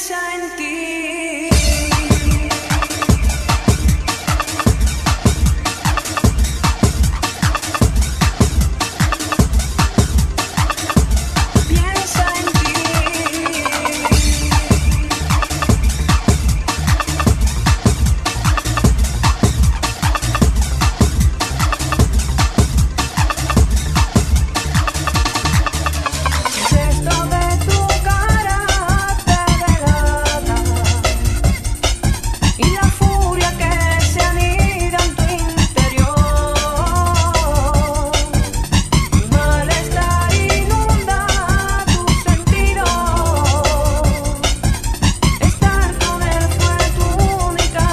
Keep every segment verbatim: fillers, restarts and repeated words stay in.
piensa en ti. Piensa en ti. Gesto de tu cara te delata y la furia que se anida en tu interior. Malestar inunda tus sentidos. Estar con él fue tu única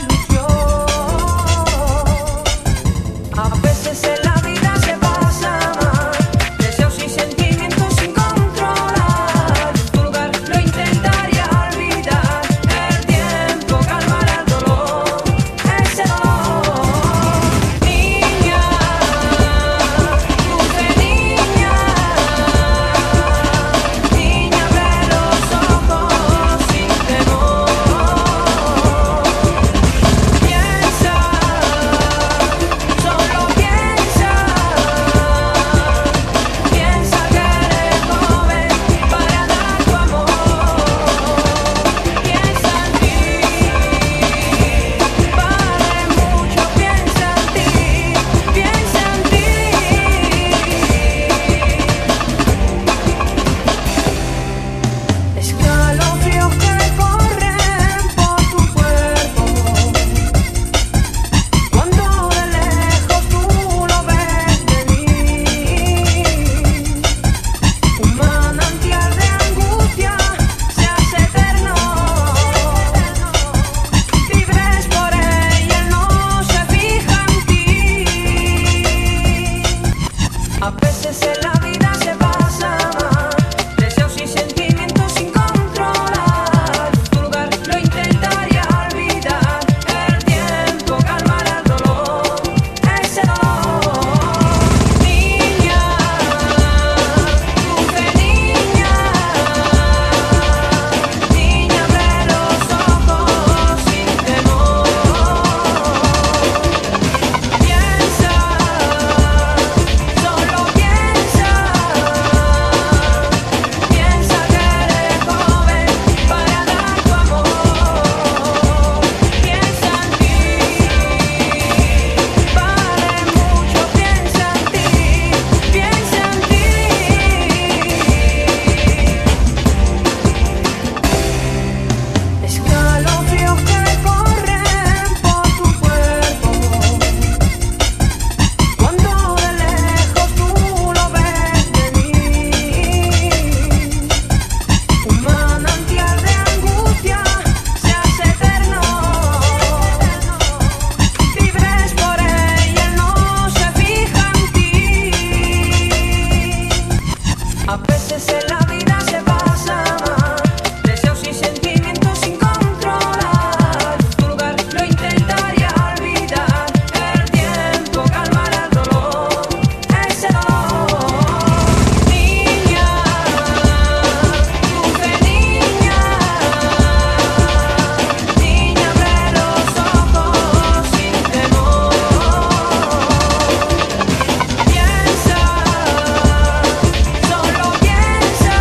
ilusión. A veces en la vida se pasa mal, deseos y sentimientos sin controlar. En tu lugar lo intentaría olvidar. El tiempo calmará el dolor, ese dolor. Niña, dulce niña, niña, abre los ojos sin temor. Piensa, solo piensa, piensa que eres joven para dar tu amor. Piensa en ti, vale mucho, piensa en ti, piensa en ti. Escalofríos que corren por tu cuerpo cuando de lejos tú lo ves venir. Un manantial de angustia se hace eterno. Vibres por él y él no se fija en ti. A veces en la vida se pasa mal, deseos y sentimientos sin controlar. En tu lugar lo intentaría olvidar. El tiempo calmará el dolor, ese dolor. Niña, dulce niña, niña, abre los ojos sin temor. Piensa, solo piensa, piensa que eres joven para dar tu amor. Piensa en ti, vale mucho, piensa en ti, piensa en ti. Escalofríos que corren por tu cuerpo cuando de lejos tú lo ves venir. Un manantial de angustia se hace eterno. Vibres por él y él no se fija en ti. A veces en la vida se pasa mal, deseos y sentimientos sin controlar. En tu lugar lo intentaría olvidar. El tiempo calmará el dolor, ese dolor. Niña, dulce niña, niña, abre los ojos sin temor. Piensa, solo piensa,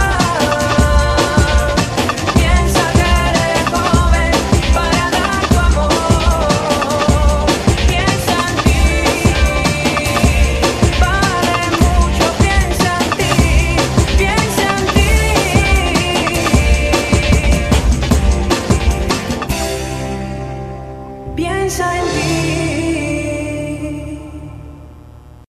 piensa que eres joven para dar tu amor. Piensa en ti, vale mucho, piensa en ti, piensa en ti. Piensa en ti.